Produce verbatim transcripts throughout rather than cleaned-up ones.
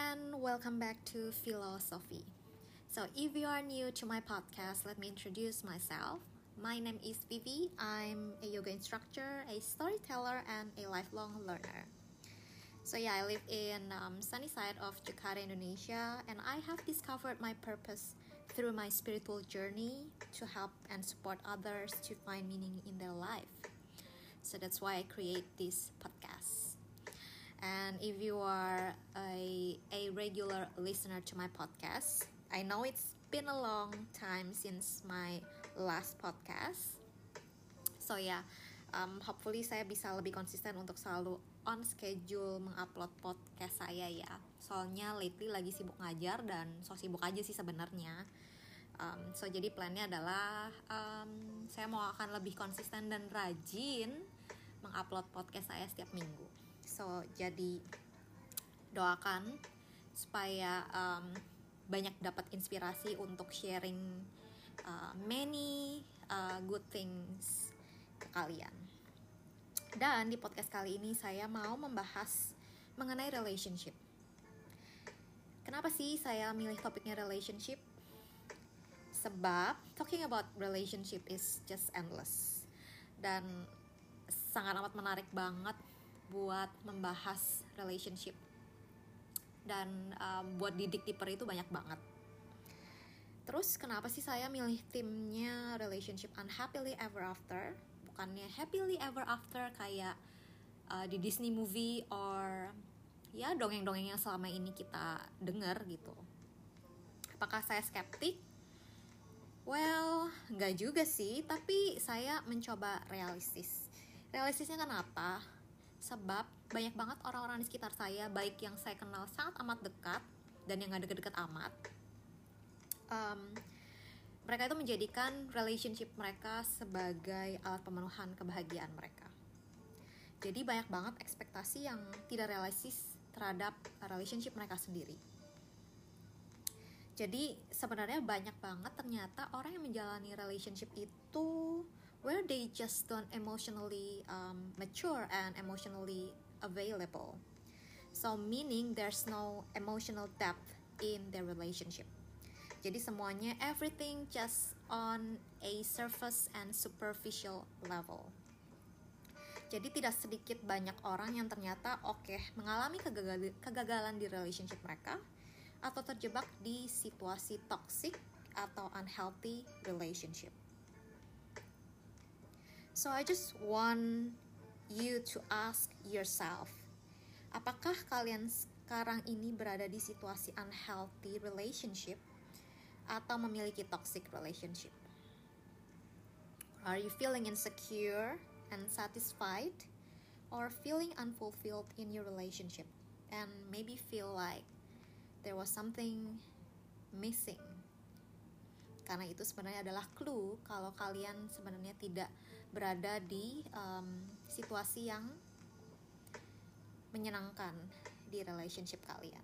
and welcome back to Philosophy. So, if you are new to my podcast, let me introduce myself. My name is Vivi. I'm a yoga instructor, a storyteller, and a lifelong learner. So, yeah, I live in um, sunny side of Jakarta, Indonesia, and I have discovered my purpose through my spiritual journey to help and support others to find meaning in their life. So that's why I create this podcast. And if you are a, a regular listener to my podcast, I know it's been a long time since my last podcast. So ya, yeah, um, hopefully saya bisa lebih konsisten untuk selalu on schedule mengupload podcast saya ya. Soalnya lately lagi sibuk ngajar dan so sibuk aja sih sebenarnya. Um, so jadi plannya adalah um, saya mau akan lebih konsisten dan rajin mengupload podcast saya setiap minggu. So, jadi doakan supaya um, banyak dapat inspirasi untuk sharing uh, many uh, good things ke kalian. Dan di podcast kali ini saya mau membahas mengenai relationship. Kenapa sih saya milih topiknya relationship? Sebab talking about relationship is just endless. Dan sangat amat menarik banget buat membahas relationship dan um, buat didik deeper itu banyak banget. Terus kenapa sih saya milih timnya relationship unhappily ever after, bukannya happily ever after kayak uh, di Disney movie or ya dongeng-dongeng yang selama ini kita dengar gitu. Apakah saya skeptik? Well, nggak juga sih, tapi saya mencoba realistis. Realistisnya kenapa? Sebab banyak banget orang-orang di sekitar saya, baik yang saya kenal sangat amat dekat dan yang gak deket-deket amat, um, mereka itu menjadikan relationship mereka sebagai alat pemenuhan kebahagiaan mereka. Jadi banyak banget ekspektasi yang tidak realistis terhadap relationship mereka sendiri. Jadi sebenarnya banyak banget ternyata orang yang menjalani relationship itu where they just don't emotionally um, mature and emotionally available. So meaning there's no emotional depth in their relationship. Jadi semuanya everything just on a surface and superficial level. Jadi tidak sedikit banyak orang yang ternyata oke okay, mengalami kegagal- kegagalan di relationship mereka atau terjebak di situasi toxic atau unhealthy relationship. So I just want you to ask yourself, apakah kalian sekarang ini berada di situasi unhealthy relationship atau memiliki toxic relationship? Are you feeling insecure and satisfied or feeling unfulfilled in your relationship and maybe feel like there was something missing? Karena itu sebenarnya adalah clue kalau kalian sebenarnya tidak berada di um, situasi yang menyenangkan di relationship kalian.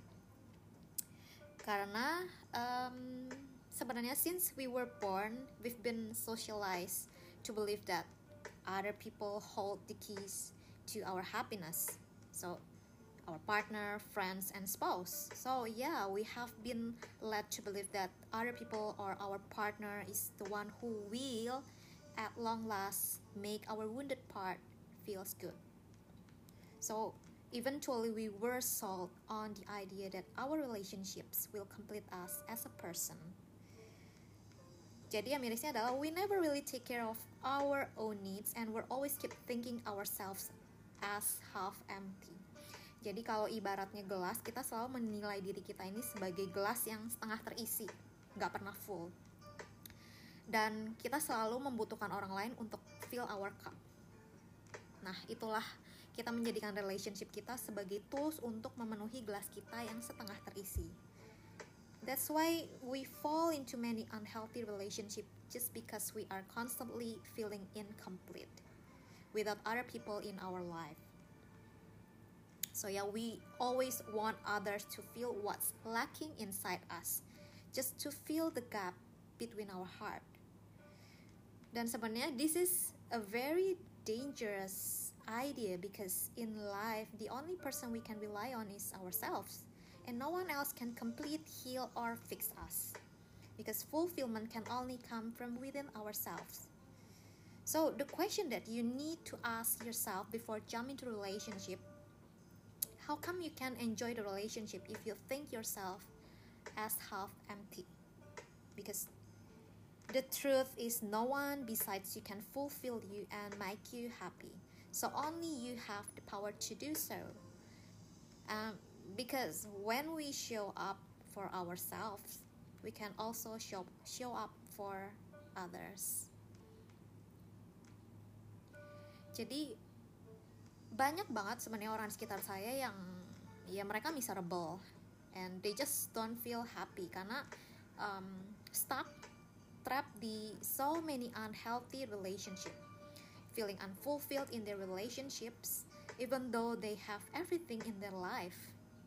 Karena um, sebenarnya since we were born, we've been socialized to believe that other people hold the keys to our happiness. So our partner, friends, and spouse. So yeah, we have been led to believe that other people or our partner is the one who will, at long last, make our wounded part feels good. So eventually we were sold on the idea that our relationships will complete us as a person. Jadi yang mirisnya adalah we never really take care of our own needs and we're always keep thinking ourselves as half empty. Jadi kalau ibaratnya gelas, kita selalu menilai diri kita ini sebagai gelas yang setengah terisi, gak pernah full. Dan kita selalu membutuhkan orang lain untuk fill our cup. Nah, itulah kita menjadikan relationship kita sebagai tools untuk memenuhi gelas kita yang setengah terisi. That's why we fall into many unhealthy relationships just because we are constantly feeling incomplete without other people in our life. So yeah, we always want others to feel what's lacking inside us, just to fill the gap between our heart. Dan sebenarnya this is a very dangerous idea because in life the only person we can rely on is ourselves. and no one else can complete, heal, or fix us. Because fulfillment can only come from within ourselves. So the question that you need to ask yourself before jumping into a relationship, how come you can enjoy the relationship if you think yourself as half empty? Because the truth is no one besides you can fulfill you and make you happy. So only you have the power to do so. Um, because when we show up for ourselves, we can also show, show up for others. Jadi banyak banget sebenarnya orang sekitar saya yang ya mereka miserable and they just don't feel happy karena um, stuck, trapped di so many unhealthy relationship, feeling unfulfilled in their relationships even though they have everything in their life.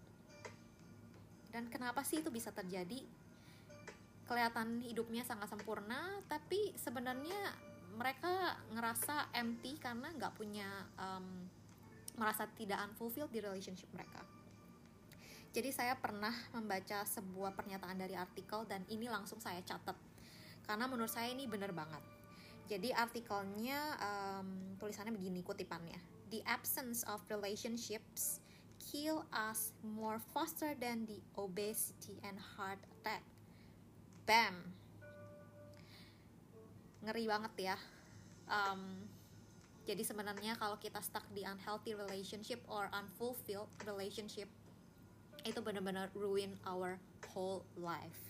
Dan kenapa sih itu bisa terjadi? Kelihatan hidupnya sangat sempurna, tapi sebenarnya mereka ngerasa empty karena nggak punya um, merasa tidak unfulfilled di relationship mereka. Jadi saya pernah membaca sebuah pernyataan dari artikel dan ini langsung saya catat karena menurut saya ini benar banget. Jadi artikelnya um, tulisannya begini, kutipannya: the absence of relationships kill us more faster than the obesity and heart attack. Bam, ngeri banget ya. Um, jadi sebenarnya kalau kita stuck di unhealthy relationship or unfulfilled relationship, itu benar-benar ruin our whole life.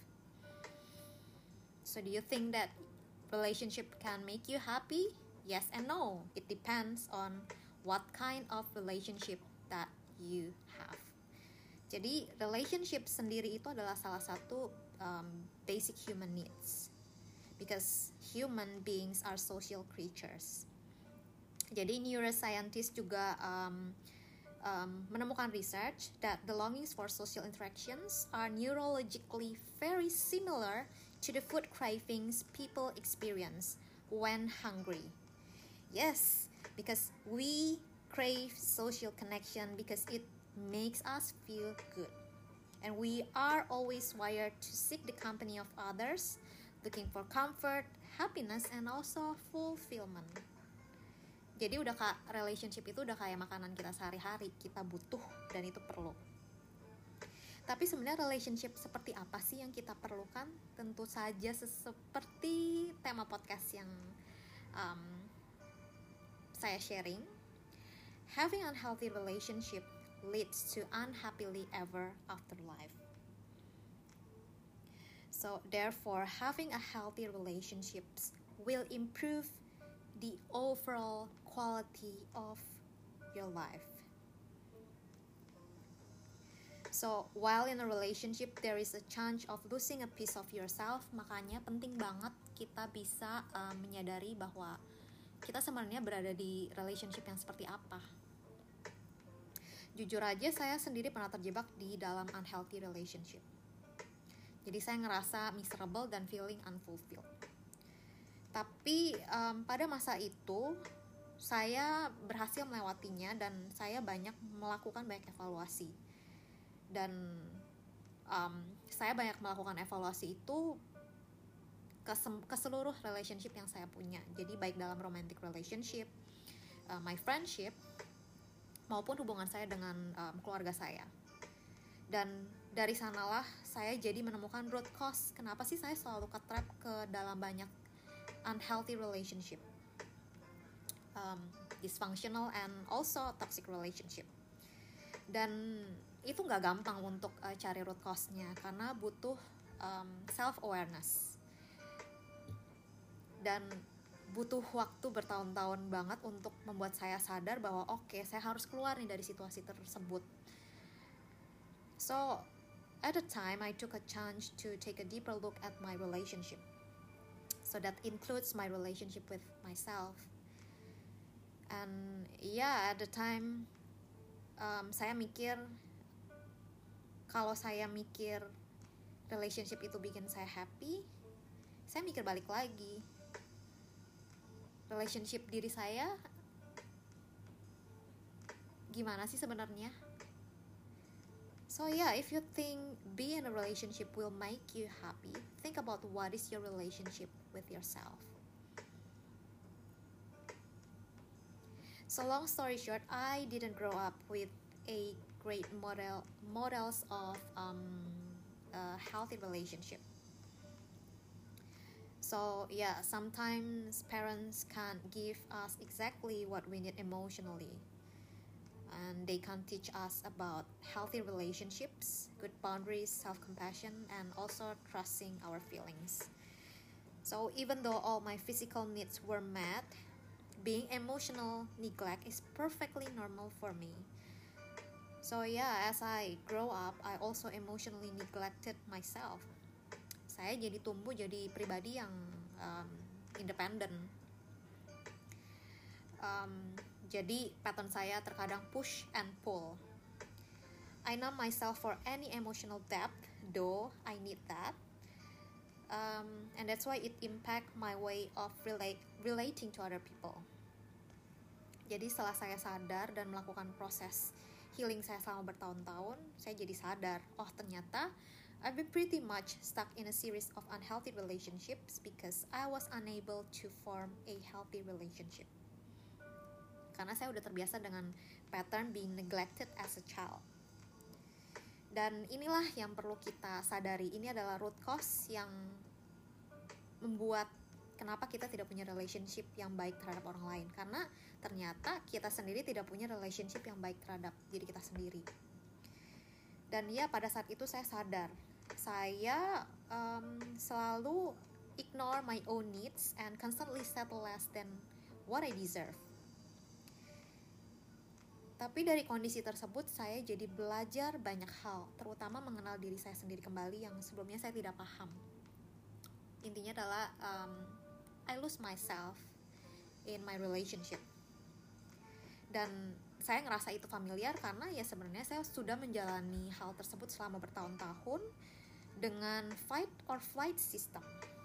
So do you think that relationship can make you happy? Yes and no. It depends on what kind of relationship that you have. Jadi relationship sendiri itu adalah salah satu um, basic human needs. Because human beings are social creatures. Jadi neuroscientists juga um, um, menemukan research that the longings for social interactions are neurologically very similar to the food cravings people experience when hungry. Yes, because we crave social connection because it makes us feel good. And we are always wired to seek the company of others, looking for comfort, happiness, and also fulfillment. Jadi udah kak, relationship itu udah kayak makanan kita sehari-hari, kita butuh dan itu perlu. Tapi sebenarnya relationship seperti apa sih yang kita perlukan? Tentu saja seperti tema podcast yang um, saya sharing. Having unhealthy relationship leads to unhappily ever after life. So therefore, having a healthy relationships will improve the overall quality of your life. So while in a relationship there is a chance of losing a piece of yourself, makanya penting banget kita bisa uh, menyadari bahwa kita sebenarnya berada di relationship yang seperti apa. Jujur aja saya sendiri pernah terjebak di dalam unhealthy relationship. Jadi saya ngerasa miserable dan feeling unfulfilled. Tapi um, pada masa itu saya berhasil melewatinya dan saya banyak melakukan banyak evaluasi. Dan um, saya banyak melakukan evaluasi itu ke, sem- ke seluruh relationship yang saya punya. Jadi baik dalam romantic relationship, uh, my friendship, maupun hubungan saya dengan um, keluarga saya. Dan dari sanalah saya jadi menemukan root cause kenapa sih saya selalu ke-trap ke dalam banyak unhealthy relationship, um, dysfunctional and also toxic relationship. Dan itu nggak gampang untuk uh, cari root cause-nya karena butuh um, self-awareness dan butuh waktu bertahun-tahun banget untuk membuat saya sadar bahwa oke, okay, saya harus keluar nih dari situasi tersebut. So at the time I took a chance to take a deeper look at my relationship. So that includes my relationship with myself. And yeah, at the time um, saya mikir kalau saya mikir relationship itu bikin saya happy, saya mikir balik lagi. Relationship diri saya gimana sih sebenarnya? So So yeah, if you think being in a relationship will make you happy, think about what is your relationship with yourself. So long story short, I didn't grow up with a great model models of um, a healthy relationship. So yeah, sometimes parents can't give us exactly what we need emotionally, and they can't teach us about healthy relationships, good boundaries, self-compassion, and also trusting our feelings. So even though all my physical needs were met, being emotional neglect is perfectly normal for me. So yeah, as I grow up, I also emotionally neglected myself. Saya jadi tumbuh jadi pribadi yang um, independen. Um, jadi pattern saya terkadang push and pull. I numb myself for any emotional depth, though I need that. Um, and that's why it impact my way of relate, relating to other people. Jadi setelah saya sadar dan melakukan proses healing saya selama bertahun-tahun, saya jadi sadar, oh ternyata I've been pretty much stuck in a series of unhealthy relationships because I was unable to form a healthy relationship. Karena saya udah terbiasa dengan pattern being neglected as a child. Dan inilah yang perlu kita sadari, ini adalah root cause yang membuat kenapa kita tidak punya relationship yang baik terhadap orang lain. Karena ternyata kita sendiri tidak punya relationship yang baik terhadap diri kita sendiri. Dan ya pada saat itu saya sadar, saya um, selalu ignore my own needs and constantly settle less than what I deserve. Tapi dari kondisi tersebut saya jadi belajar banyak hal, terutama mengenal diri saya sendiri kembali yang sebelumnya saya tidak paham. Intinya adalah um, I lose myself in my relationship. Dan saya ngerasa itu familiar karena ya sebenarnya saya sudah menjalani hal tersebut selama bertahun-tahun dengan fight or flight system.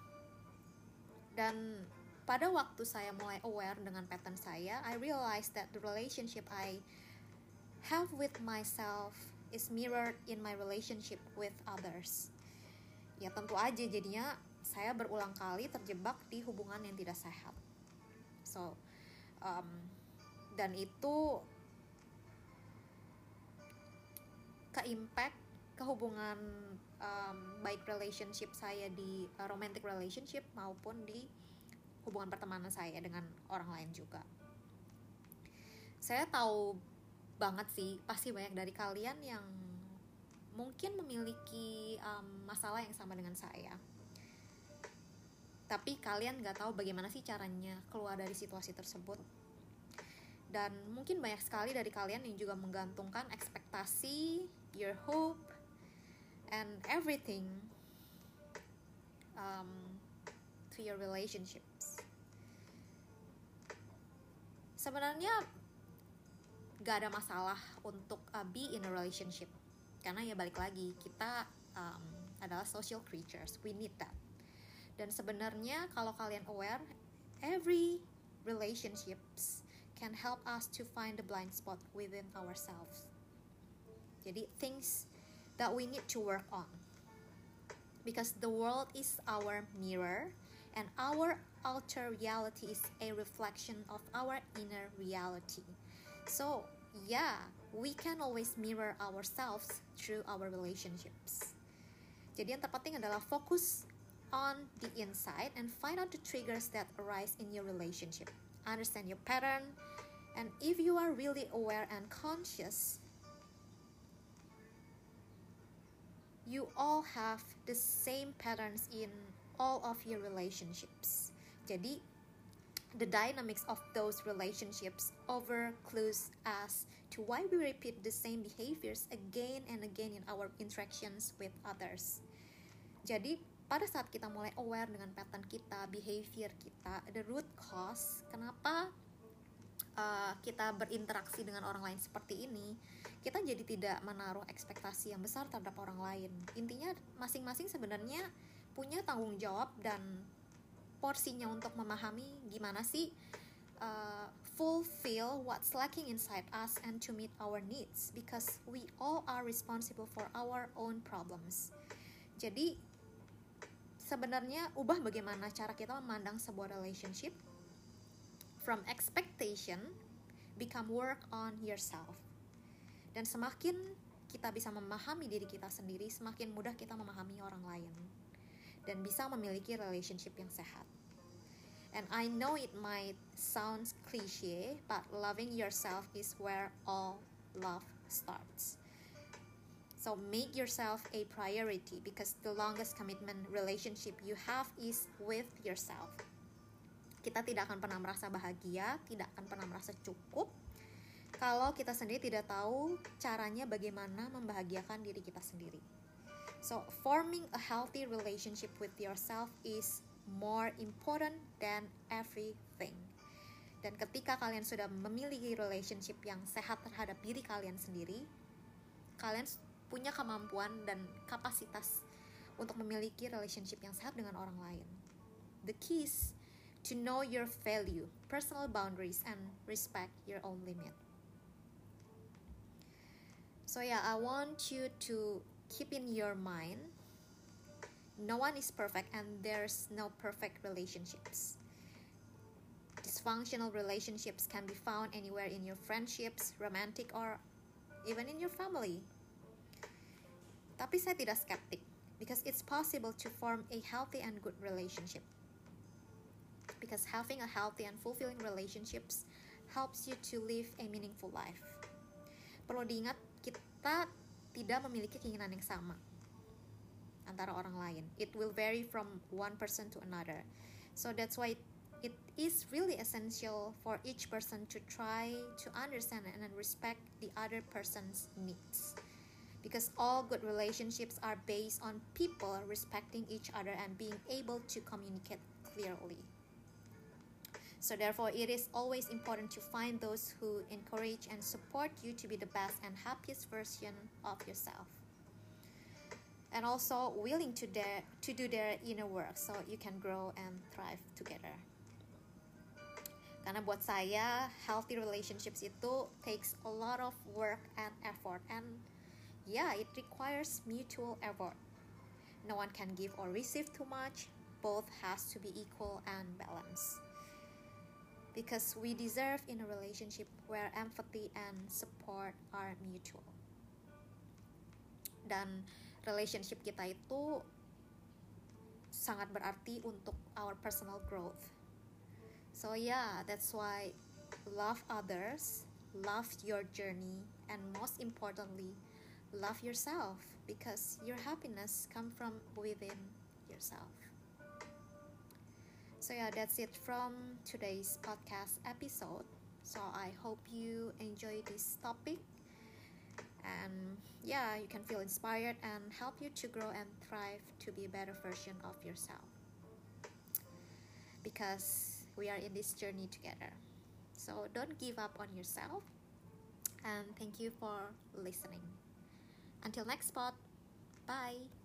Dan pada waktu saya mulai aware dengan pattern saya, I realized that the relationship I have with myself is mirrored in my relationship with others. Ya tentu aja jadinya saya berulang kali terjebak di hubungan yang tidak sehat. So, um, dan itu ke-impact ke hubungan um, baik relationship saya di uh, romantic relationship maupun di hubungan pertemanan saya dengan orang lain juga. Saya tahu banget sih, pasti banyak dari kalian yang mungkin memiliki um, masalah yang sama dengan saya. Tapi kalian gak tahu bagaimana sih caranya keluar dari situasi tersebut. Dan mungkin banyak sekali dari kalian yang juga menggantungkan ekspektasi, your hope, and everything um, to your relationships. Sebenarnya gak ada masalah untuk uh, be in a relationship. Karena ya balik lagi, kita um, adalah social creatures, we need that. Dan sebenarnya kalau kalian aware, every relationships can help us to find the blind spot within ourselves. Jadi things that we need to work on. Because the world is our mirror and our outer reality is a reflection of our inner reality. So, yeah, we can always mirror ourselves through our relationships. Jadi yang terpenting adalah fokus on the inside and find out the triggers that arise in your relationship. Understand your pattern, and if you are really aware and conscious, you all have the same patterns in all of your relationships. Jadi, the dynamics of those relationships over clues us to why we repeat the same behaviors again and again in our interactions with others. Jadi, pada saat kita mulai aware dengan pattern kita, behavior kita, the root cause kenapa uh, kita berinteraksi dengan orang lain seperti ini, kita jadi tidak menaruh ekspektasi yang besar terhadap orang lain. Intinya masing-masing sebenarnya punya tanggung jawab dan porsinya untuk memahami gimana sih uh, fulfill what's lacking inside us and to meet our needs, because we all are responsible for our own problems. Jadi sebenarnya ubah bagaimana cara kita memandang sebuah relationship. From expectation, become work on yourself. Dan semakin kita bisa memahami diri kita sendiri, semakin mudah kita memahami orang lain dan bisa memiliki relationship yang sehat. And I know it might sound cliche, but loving yourself is where all love starts. So make yourself a priority, because the longest commitment relationship you have is with yourself. Kita tidak akan pernah merasa bahagia, tidak akan pernah merasa cukup kalau kita sendiri tidak tahu caranya bagaimana membahagiakan diri kita sendiri. So forming a healthy relationship with yourself is more important than everything. Dan ketika kalian sudah memiliki relationship yang sehat terhadap diri kalian sendiri, kalian punya kemampuan dan kapasitas untuk memiliki relationship yang sehat dengan orang lain. The key is to know your value, personal boundaries, and respect your own limit. So yeah, I want you to keep in your mind, no one is perfect and there's no perfect relationships. Dysfunctional relationships can be found anywhere in your friendships, romantic, or even in your family. Tapi saya tidak skeptik, because it's possible to form a healthy and good relationship. Because having a healthy and fulfilling relationships helps you to live a meaningful life. Perlu diingat, kita tidak memiliki keinginan yang sama antara orang lain. It will vary from one person to another. So that's why it, it is really essential for each person to try to understand and respect the other person's needs. Because all good relationships are based on people respecting each other and being able to communicate clearly. So therefore, it is always important to find those who encourage and support you to be the best and happiest version of yourself. And also willing to, dare, to do their inner work so you can grow and thrive together. Karena buat saya, healthy relationships itu takes a lot of work and effort. And yeah, it requires mutual effort. No one can give or receive too much. Both has to be equal and balanced. Because we deserve in a relationship where empathy and support are mutual. Dan relationship kita itu sangat berarti untuk our personal growth. So yeah, that's why love others, love your journey, and most importantly, love yourself, because your happiness comes from within yourself. So yeah, that's it from today's podcast episode. So I hope you enjoy this topic. And yeah, you can feel inspired and help you to grow and thrive to be a better version of yourself. Because we are in this journey together. So don't give up on yourself. And thank you for listening. Until next spot. Bye.